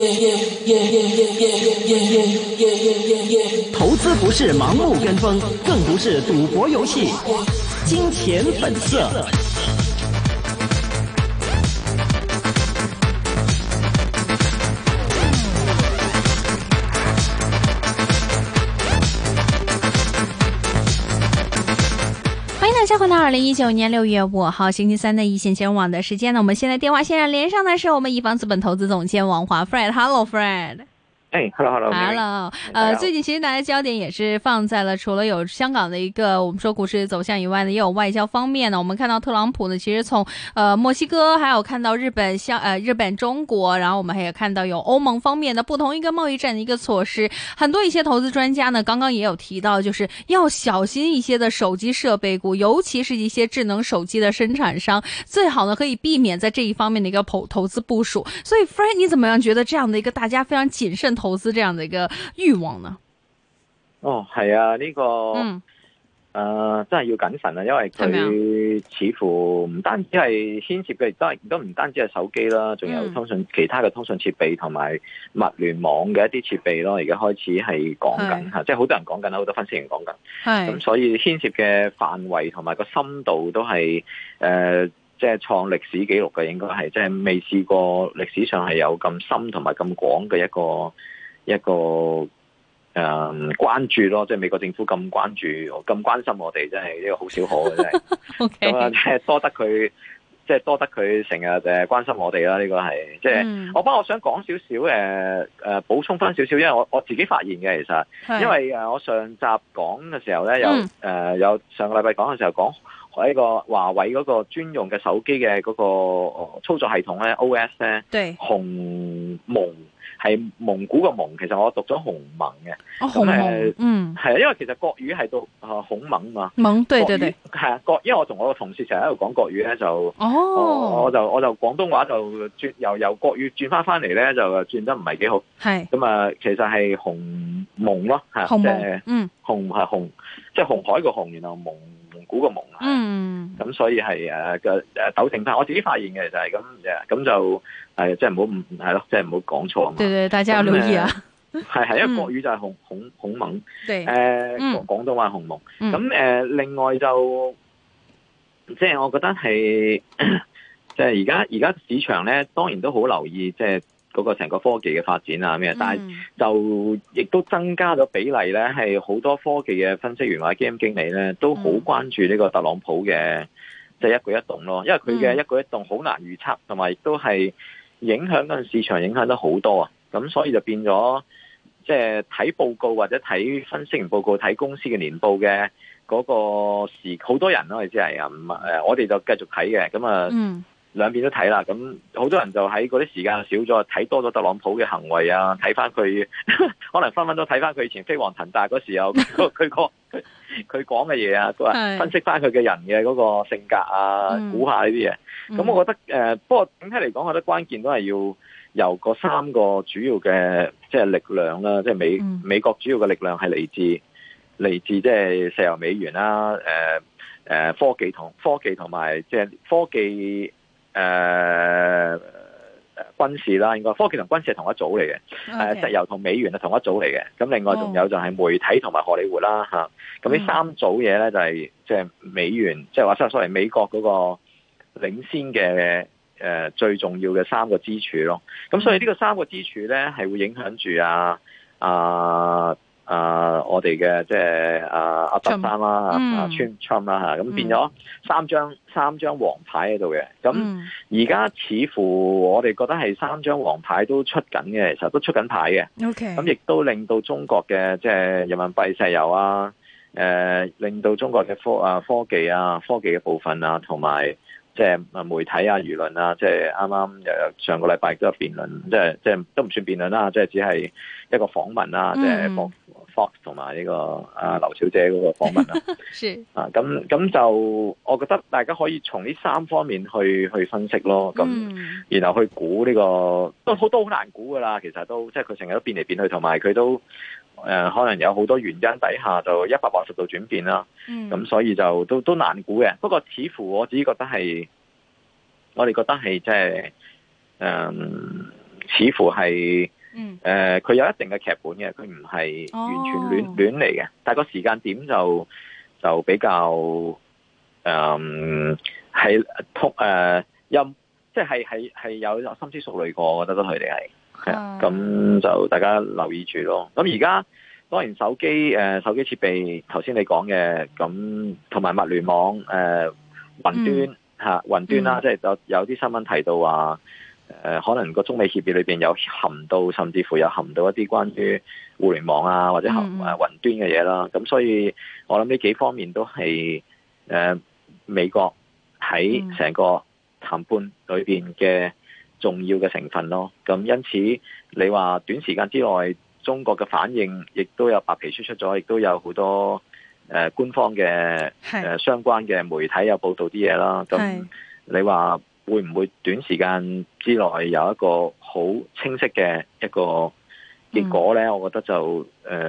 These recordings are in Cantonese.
投資不是盲目跟風，更不是賭博遊戲。金錢本色。 大家回到2019年6月5號星期三的一線金融網的時間呢，我們現在電話線上連上的是我們一方資本投資總監王華 Fred。Hello Fred。Hello。最近其實大家焦點也是放在了除了有香港的一個我們說股市走向以外呢，也有外交方面呢。我們看到特朗普呢，其實從墨西哥，還有看到日本、中國，然後我們還有看到有歐盟方面的不同一個貿易戰的一個措施。很多一些投資專家呢，剛剛也有提到，就是要小心一些的手機設備股，尤其是一些智能手機的生產商，最好呢可以避免在這一方面的一個投資部署。所以 Fred， 你怎麼樣覺得這樣的一個大家非常謹慎投資這樣的一個慾望呢？ 係啊，呢個真係要謹慎啊，因為佢似乎唔單止係牽涉嘅，亦都唔單止係手機啦，仲有其他嘅通訊設備同埋物聯網嘅一啲設備咯。而家開始係講緊吓，即係好多人講緊，好多分析員講緊。咁所以牽涉嘅範圍同埋個深度都係即係創歷史紀錄嘅，應該係即係未試過歷史上係有咁深同埋咁廣嘅一個關注咯，即係美國政府咁關注、咁關心我哋，真係呢個好少可嘅真係。咁啊，即係多得佢成日關心我哋啦。呢個係即係我想講少少補充翻少少，因為我自己發現嘅其實，因為我上集講嘅時候咧，有上個禮拜講嘅時候講喺個華為嗰個專用嘅手機嘅嗰個操作系統咧 OS 咧，對，鴻蒙。係蒙古個蒙，其實我讀咗鴻蒙嘅。鴻蒙，係啊，因為其實國語係讀孔蒙嘛。蒙，對對對，係啊，因為我同我個同事成日喺度講國語咧，我就廣東話就轉由國語轉翻嚟咧，就轉得唔係幾好。係咁啊，其實係鴻蒙咯，係即係鴻係鴻，即係紅海個鴻，然後蒙古個蒙。咁所以係糾正翻，我自己發現嘅就係咁就。係，即係唔好係咯，即係唔好講錯嘛。對對，大家要留意啊。係，因為國語就係孔蒙，廣東話係鴻蒙。咁另外就即係我覺得係，即係而家市場咧，當然都好留意，即係嗰個成個科技嘅發展啊咩，但係就亦都增加咗比例咧，係好多科技嘅分析員或者基金經理咧，都好關注呢個特朗普嘅即係一舉一動咯，因為佢嘅一舉一動好難預測，同埋亦都係。影響嗰陣市場影響得好多啊，咁所以就變咗，即係睇報告或者睇分析員報告、睇公司嘅年報嘅嗰個好多人咯，即係我哋就繼續睇嘅，咁兩邊都睇啦，咁好多人就喺嗰啲時間少咗，睇多咗特朗普嘅行為啊，睇翻佢，可能分都睇翻佢以前飛黃騰達嗰時候佢講嘅嘢啊，分析翻佢嘅人嘅嗰個性格啊，估下呢啲嘢。咁我覺得不過整體嚟講，我覺得關鍵都係要由嗰三個主要嘅即係力量啦，即係美國主要嘅力量係嚟自即係石油美元啦，科技同埋即係科技軍事啦，應該科技同軍事係同一組嚟嘅，石油同美元係同一組嚟嘅。咁另外仲有就係媒體同埋荷里活啦嚇。咁呢三組嘢咧就係即係美元，即係話所謂美國嗰個領先嘅最重要嘅三個支柱咯。咁所以呢個三個支柱咧係會影響住我哋嘅即係阿特生啦，Trump 啦嚇，咁變咗三張黃牌喺度嘅。咁而家似乎我哋覺得係三張黃牌都出緊嘅，其實都出緊牌嘅。咁亦都令到中國嘅即係人民幣、石油啊，令到中國嘅科技嘅部分啊，同埋即係媒體啊、輿論啊，即係啱啱上個禮拜都有辯論，即係都唔算辯論啦，即係只係一個訪問啦，即係Fox 同埋呢個劉小姐嗰個訪問啦。咁就我覺得大家可以從呢三方面去分析咯。咁然後去估呢個都好難估噶啦。其實都即係佢成日都變嚟變去，同埋佢都可能有好多原因底下就180度轉變啦。咁所以就都難估嘅。不過似乎我自己覺得係，我哋覺得係即係似乎係佢有一定嘅劇本嘅，佢唔係完全亂嚟嘅，但係個時間點就比較係即係有深思熟慮過，我覺得佢哋係啊，咁就大家留意住咯。咁而家當然手機設備頭先你講嘅，咁同埋物聯網雲端雲端啦，即係有啲新聞提到話可能個中美協議裏邊有含到，甚至乎有含到一啲關於互聯網啊或者雲端嘅嘢啦。咁所以我諗呢幾方面都係美國喺成個談判裏邊嘅重要嘅成分咯。咁因此你話短時間之內中國嘅反應亦都有白皮書出咗，亦都有好多官方嘅相關嘅媒體有報道啲嘢啦。咁你話會唔會短時間之內有一個好清晰嘅一個結果呢？我覺得就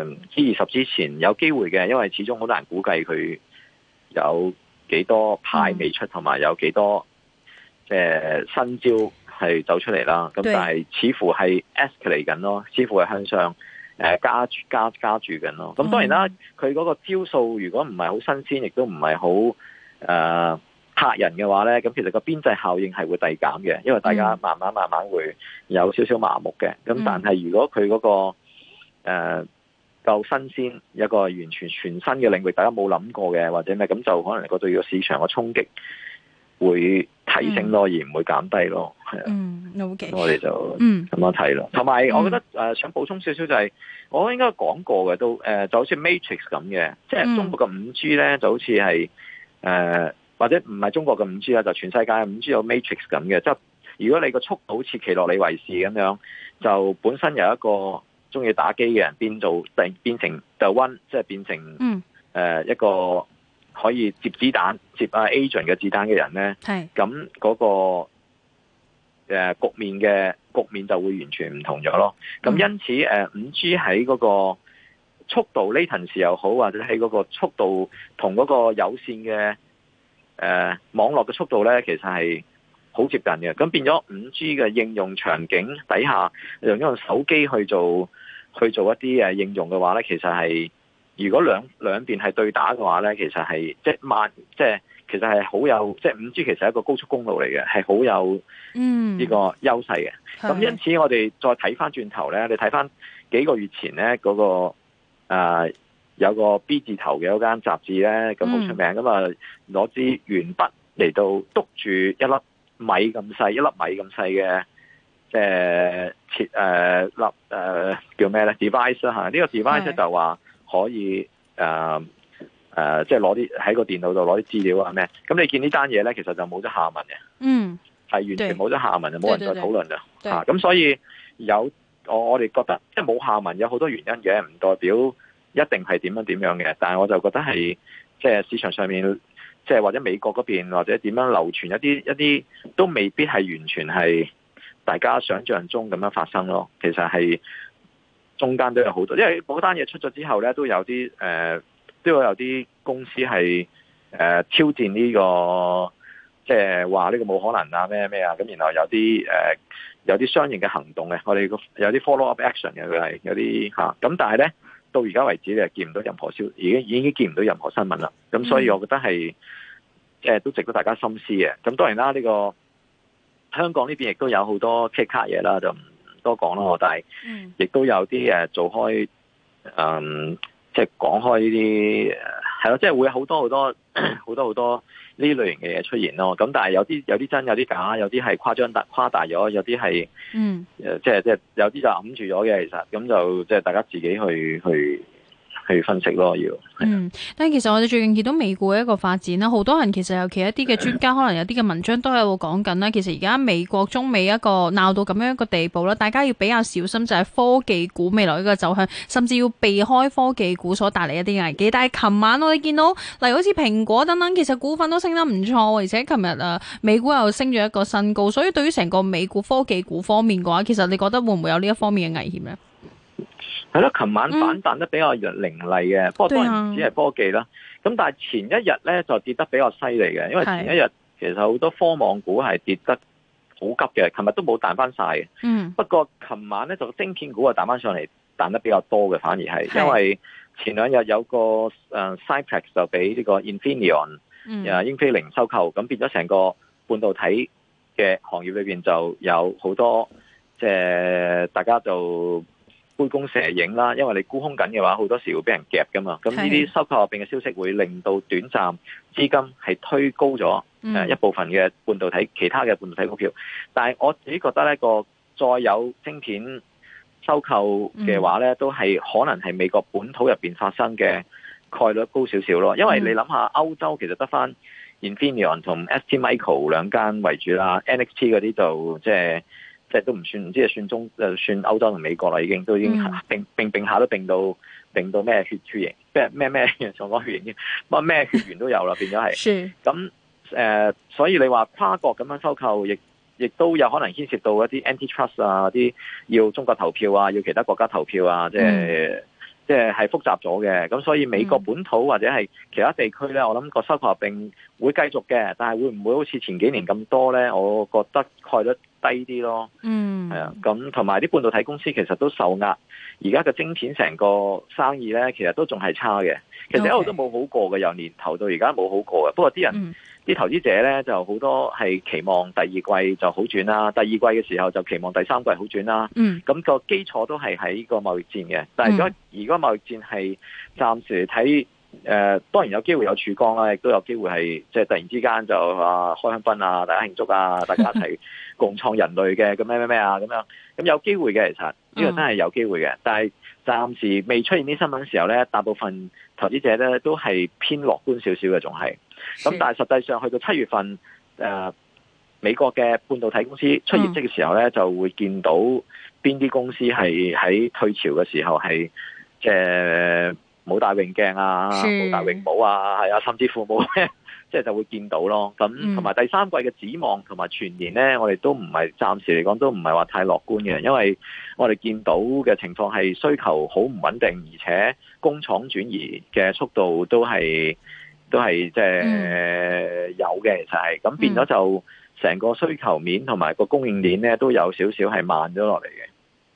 G20之前有機會嘅，因為始終好難估計佢有幾多牌未出，同埋有幾多新招係走出嚟啦。咁但係似乎係 escalate 緊咯，似乎係向上加注緊咯。咁當然啦，佢嗰個招數如果唔係好新鮮，亦都唔係好嚇人嘅話咧，咁其實個邊際效應係會遞減嘅，因為大家慢慢會有少少麻木嘅。咁但係如果佢嗰個夠新鮮，一個完全全新嘅領域，大家冇諗過嘅或者咩，咁就可能對個市場嘅衝擊會提升咯，而唔會減低咯。係啊 ，OK， 我哋就咁樣睇咯。同埋我覺得想補充少少就係，我應該講過嘅都就好似 Matrix 咁嘅，即係中國嘅 5G 咧就好似係或者唔係中國嘅 5G 啦，就全世界嘅 5G 有 Matrix 咁嘅，即係如果你個速度好似奇洛里維士咁樣，就本身有一個中意打機嘅人變成 The One， 即係變成一個可以接子彈、接agent 嘅子彈嘅人咧，咁嗰個局面就會完全唔同咗咯。咁因此5G 喺嗰個速度 latency 又好，或者喺嗰個速度同嗰個有線嘅網絡嘅速度咧，其實係好接近嘅。咁變咗 5G 嘅應用場景底下，用手機去做一啲應用嘅話咧，其實係如果兩邊係對打嘅話咧，其實係其實係好有，即係 5G 其實係一個高速公路嚟嘅，係好有呢個優勢嘅。咁因此我哋再睇翻轉頭咧，你睇翻幾個月前咧嗰個有個 B 字頭嘅嗰間雜誌咧，咁好出名，咁啊攞支鉛筆嚟到篤住一粒米咁細嘅叫咩咧 device 啦嚇，呢個 device 就話可以即係攞啲喺個電腦度攞啲資料啊咩，咁你見呢單嘢咧，其實就冇咗下文嘅，係完全冇咗下文，就冇人再討論啦嚇。咁所以我哋覺得即係冇下文有好多原因嘅，唔代表一定係點樣嘅，但係我就覺得係即係市場上面，即係或者美國嗰邊或者點樣流傳一啲都未必係完全係大家想象中咁樣發生咯。其實係中間都有好多，因為嗰單嘢出咗之後咧，都有啲公司係挑戰呢個，即係話呢個冇可能啊咩啊，咁然後有啲相應嘅行動嘅，我哋有啲 follow up action 嘅，佢係有啲咁但係咧到而家為止，你係見唔到任何已經見唔到任何新聞啦。咁所以我覺得係即係都值得大家深思嘅。咁當然啦，呢個香港呢邊亦都有好多 K 卡嘢啦，就唔多講啦。但係亦都有啲做開即係講開呢啲係咯，即係會有好多呢類型嘅嘢出現咯。咁但係有啲真，有啲假，有啲係誇大咗，有啲係即係有啲就揞住咗嘅。其實咁就即係大家自己去分析咯，要。 但係其實我哋最近見到美股嘅一個發展啦，好多人其實尤其一啲嘅專家，可能有啲嘅文章都喺度講緊啦。其實而家美國中美一個鬧到咁樣一個地步啦，大家要比較小心，就係科技股未來一個走向，甚至要避開科技股所帶嚟一啲危機。但係琴晚我哋見到，例如好似蘋果等等，其實股份都升得唔錯，而且琴日美股又升咗一個新高。所以對於成個美股科技股方面嘅話，其實你覺得會唔會有呢一方面嘅危險呢？ 係咯，琴晚反彈得比較凌厲嘅，不過當然只係科技啦。咁但係前一日咧就跌得比較犀利嘅，因為前一日其實好多科網股係跌得好急嘅，琴日都冇彈翻晒嘅。不過琴晚咧就晶片股啊彈翻上嚟，彈得比較多嘅，反而係因為前兩日有個Cypress 就俾呢個 Infineon 英飛凌收購，咁變咗成個半導體嘅行業裏邊就有好多即係大家就杯弓蛇影啦，因為你沽空緊嘅話，好多時會俾人夾噶嘛。咁呢啲收購合併嘅消息會令到短暫資金係推高咗一部分嘅半導體其他嘅半導體股票。但係我自己覺得呢個再有晶片收購嘅話呢，都係可能係美國本土入邊發生嘅概率高少少咯。因為你諗下歐洲其實得翻 Infineon 同 STMicro 兩間為主啦，NXP 嗰啲就即係都唔算，唔知係算歐洲同美國啦，已經並下都並到咩血型，咩仲講血型添，咩血緣都有啦，變咗係。咁所以你話跨國咁樣收購，亦都有可能牽涉到一啲 antitrust 啊，啲要中國投票啊，要其他國家投票啊，即係複雜咗嘅。咁所以美國本土或者係其他地區咧，我諗個收購合併會繼續嘅，但係會唔會好似前幾年咁多咧？我覺得概率低啲咯。係啊，咁同埋啲半導體公司其實都受壓，而家嘅晶片成個生意咧，其實都仲係差嘅。其實一路都冇好過嘅，由年頭到而家冇好過嘅。不過啲人啲投資者咧就好多係期望第二季就好轉啦，第二季嘅時候就期望第三季好轉啦。咁個基礎都係喺個貿易戰嘅，但係如果貿易戰係暫時睇當然有機會有曙光啦，亦都有機會係即係突然之間就開香檳啊，大家慶祝啊，大家一齊共創人類嘅咁咩啊咁樣，咁有機會嘅，其實呢個真係有機會嘅，但係暫時未出現啲新聞嘅時候咧，大部分投資者咧都係偏樂觀少少嘅，仲係。咁但係實際上去到7月份，美國嘅半導體公司出業績嘅時候咧，就會見到邊啲公司係喺退潮嘅時候係即係冇戴泳鏡啊，冇戴泳帽啊，係啊，甚至乎冇咩，即係就會見到咯。咁同埋第三季嘅展望同埋全年咧，我哋都唔係暫時嚟講都唔係話太樂觀嘅，因為我哋見到嘅情況係需求好唔穩定，而且工廠轉移嘅速度都係即係有嘅，其實係咁變咗就成個需求面同埋個供應鏈咧都有少少係慢咗落嚟嘅。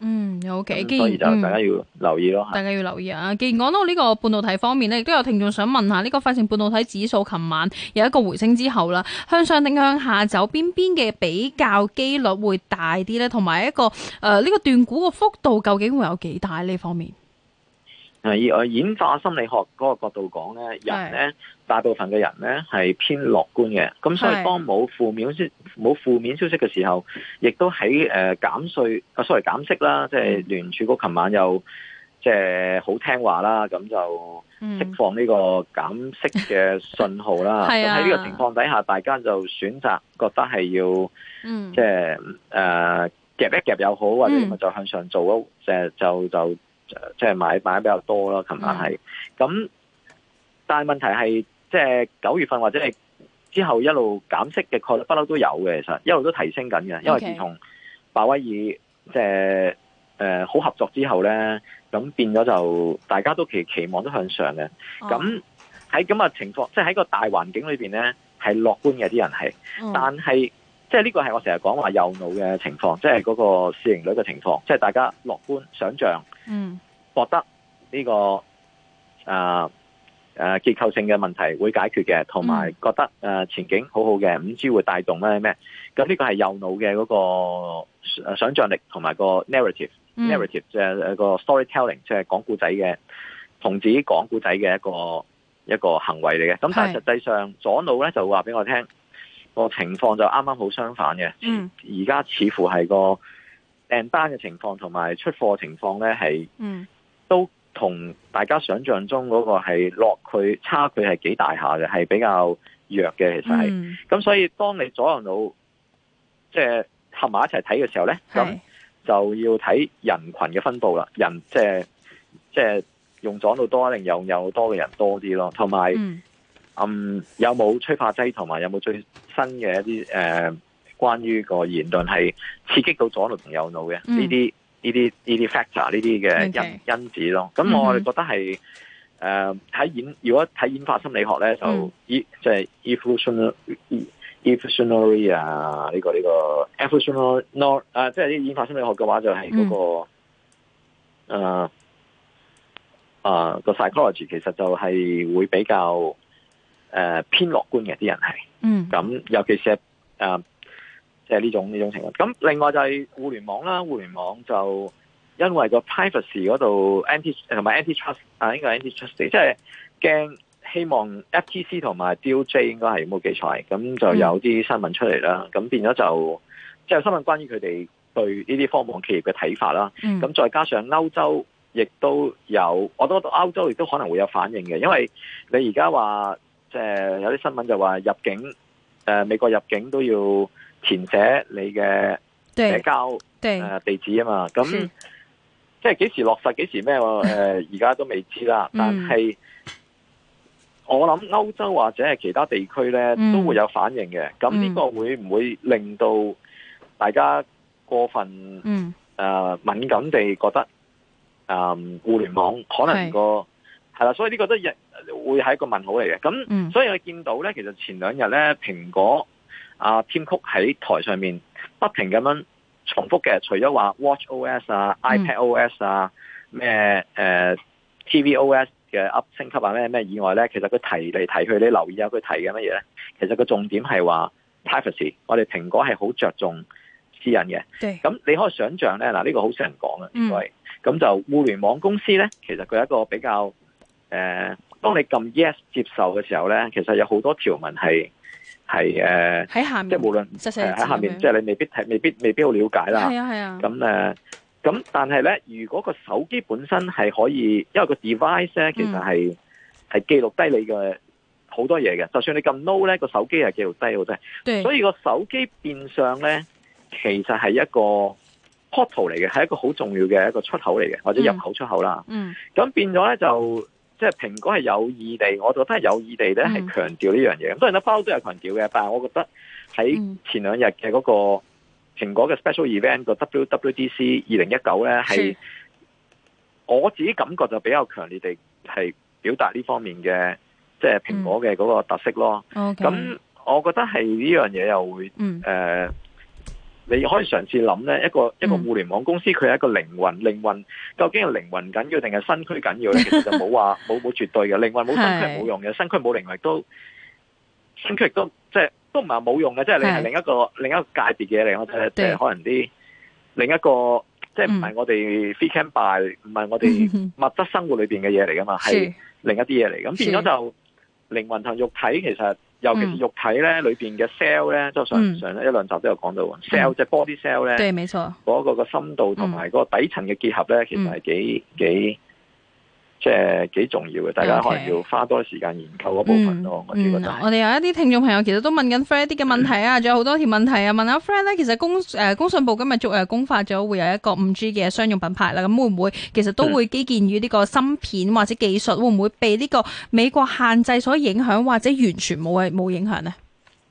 OK， 所以就大家要留意咯。 大家要留意啊！既然講到呢個半導體方面咧，亦都有聽眾想問下呢個費城半導體指數琴晚有一個回升之後啦，向上定向下走邊嘅比較機率會大啲咧？同埋一個呢個斷股嘅幅度究竟會有幾大呢方面？ 以演化心理學嗰個角度講咧，人咧大部分嘅人咧係偏樂觀嘅，咁所以當冇負面消息嘅時候，亦都喺減息啦，即係聯儲局琴晚又即係好聽話啦，咁就釋放呢個減息嘅信號啦。咁喺呢個情況底下，大家就選擇覺得係要即係夾一夾又好，或者就向上做咯，就即係買比較多啦，琴晚係咁，但係問題係即係9月份或者係之後一路減息嘅概率不嬲都有嘅，其實一路都提升緊嘅，因為自從鮑威爾即係好合作之後咧，咁變咗就大家都期望都向上嘅，咁喺咁嘅情況，即係喺個大環境裏邊咧係樂觀嘅啲人係，但係即係呢個係我成日講話右腦嘅情況，即係嗰個市盈率嘅情況，即係大家樂觀想象。覺得呢個結構性嘅問題會解決嘅，同埋覺得前景好好嘅，5G 會帶動咩？咁呢個係右腦嘅嗰個想像力同埋個 narrative 即係個 storytelling， 即係講故仔嘅，同自己講故仔嘅一個行為嚟嘅。咁但係實際上左腦咧就話俾我聽，個情況就啱啱好相反嘅。而家似乎係個訂單嘅情況同埋出貨情況咧係都同大家想象中嗰個係差距係幾大下嘅，係比較弱嘅，其實係。咁所以當你左右腦即係合埋一齊睇嘅時候咧，咁就要睇人群嘅分佈啦。人即係用左腦多定用右腦多嘅人多啲咯，同埋有冇催化劑同埋有冇最新嘅一啲關於個言論係刺激到左腦同右腦嘅呢啲 factor 呢啲嘅因子咯。咁我哋覺得係如果睇演化心理學咧，就即係 evolutionary 啊，呢個 evolutionary 即係啲演化心理學嘅話就係嗰個psychology 其實就係會比較偏樂觀嘅啲人係，咁尤其是即係呢種情況。咁另外就係互聯網啦，互聯網就因為個 privacy 嗰度同埋 antitrust 應該係 antitrust， 即係驚希望 FTC 同埋 DOJ 應該係冇記錯，咁就有啲新聞出嚟啦。咁變咗就即係新聞關於佢哋對呢啲科網企業嘅睇法啦。咁再加上歐洲亦都有，我覺得歐洲亦都可能會有反應嘅，因為你而家話即係有啲新聞就話入境美國入境都要填寫你嘅社交地址啊嘛。咁即係幾時落實幾時咩？而家都未知啦。但係我諗歐洲或者係其他地區咧都會有反應嘅。咁呢個會唔會令到大家過分敏感地覺得互聯網可能係啦？所以呢個都會係一個問號嚟嘅。咁所以我見到咧，其實前兩日咧，蘋果Tim Cook 喺台上面不停咁樣重複嘅，除咗話 WatchOS 啊、iPadOS 啊、咩tvOS 嘅升級啊咩以外咧，其實佢提嚟提去，你留意下佢提嘅乜嘢咧？其實個重點係話 privacy， 我哋蘋果係好着重私隱嘅。咁你可以想象咧，呢個好少人講啊，因為咁就互聯網公司咧，其實佢係一個比較當你撳 yes 接受嘅時候咧，其實有好多條文係喺下面，即係無論喺下面，即係你未必好了解啦。 係啊。 咁但係咧，如果個手機本身係可以，因為個 device 咧其實係記錄低你嘅好多嘢嘅，就算你撳 no 咧，個手機係記錄低好多。所以個手機變相咧，其實係一個 portal 嚟嘅，係一個好重要嘅一個出口嚟嘅，或者入口出口啦。咁變咗咧就即係蘋果係有意地，我覺得係有意地咧係強調呢樣嘢。咁當然啦，包都有強調嘅，但係我覺得喺前兩日嘅嗰個蘋果嘅 special event 個 WWDC 2019咧，係我自己感覺就比較強烈地係表達呢方面嘅即係蘋果嘅嗰個特色咯。咁我覺得係呢樣嘢又會你可以嘗試諗咧，一個互聯網公司佢係一個靈魂究竟係靈魂緊要定係身軀緊要咧？其實就冇話冇絕對嘅，靈魂冇身軀係冇用嘅，身軀冇靈魂身軀亦都即係都唔係冇用嘅，即係你係另一個界別嘅嘢嚟，即係可能啲另一個即係唔係我哋 free can buy， 唔係我哋物質生活裏邊嘅嘢嚟噶嘛，係另一啲嘢嚟。咁變咗就靈魂同肉體其實。尤其是肉體咧，裏邊嘅 cell 咧，即係上一兩集都有講到 cell 即係 body cell 咧， 對，冇錯， 嗰個深度同埋嗰個底層嘅結合咧，其實係幾重要嘅，大家可能要花多時間研究嗰部分咯。我覺得我哋有一啲聽眾朋友其實都問緊 Fred 啲嘅問題啊，仲有好多條問題啊。問下 Fred 咧，其實工信部今日公發咗會有一個 5G 嘅商用品牌啦，咁會唔會其實都會基建於呢個芯片或者技術，會唔會被呢個美國限制所影響，或者完全冇影響呢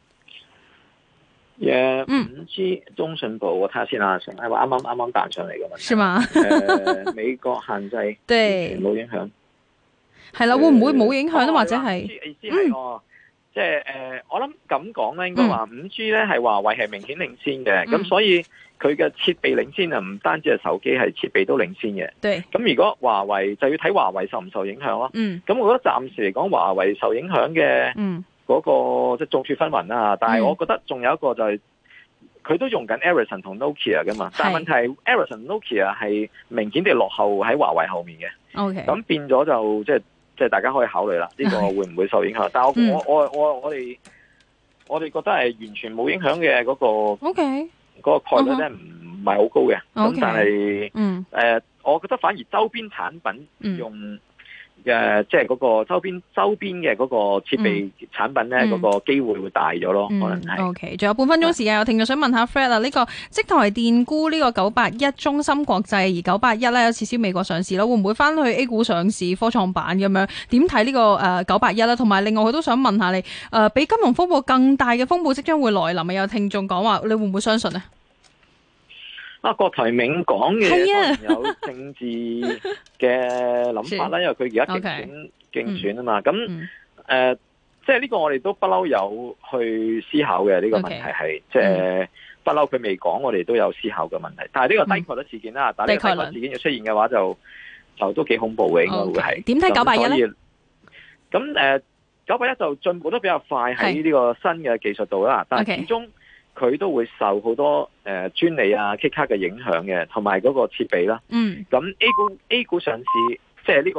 ？5G 中信部我睇下先啦，係話啱啱彈上嚟嘅問題。 是嗎？ 美國限制對冇影響， 係啦，會唔會冇影響咧？或者係意思係即係我諗咁講咧，應該話 5G 咧係華為係明顯領先嘅，咁所以佢嘅設備領先啊，唔單止係手機，係設備都領先嘅。 對， 咁如果華為就要睇華為受唔受影響咯。咁我覺得暫時嚟講，華為受影響嘅嗰個即係眾說紛紜啦。但係我覺得仲有一個就係佢都用緊 Ericsson 同 Nokia 噶嘛，但係問題係 Ericsson Nokia 係明顯地落後喺華為後面嘅。咁變咗就即係大家可以考慮啦，呢個會唔會受影響？但係我哋覺得係完全冇影響嘅嗰個概率咧，唔係好高嘅。咁但係我覺得反而周邊產品用即係嗰個周邊嘅嗰個設備產品咧，嗰個機會大咗咯，可能係。 OK， 仲有半分鐘時間，有聽眾想問下 Fred 啊，呢個積台電沽呢個981中芯國際，而981咧有撤銷美國上市啦，會唔會翻去 A 股上市科創板咁樣？點睇呢個981啦？同埋另外佢都想問下你，比金融風暴更大嘅風暴即將會來臨，有聽眾講話，你會唔會相信呢？ 郭台銘講嘅當然有政治嘅諗法啦，因為佢而家競選啊嘛。咁即係呢個我哋都不嬲有去思考嘅呢個問題係，即係不嬲佢未講，我哋都有思考嘅問題。但係呢個低概率事件啦，但係呢個低概率事件要出現嘅話就都幾恐怖嘅，應該會係。 點睇981咧？ 咁981就進步得比較快喺呢個新嘅技術度啦，但係始終佢都會受好多專利啊、K 卡嘅影響嘅，同埋嗰個設備啦。咁 A 股上市即係呢個。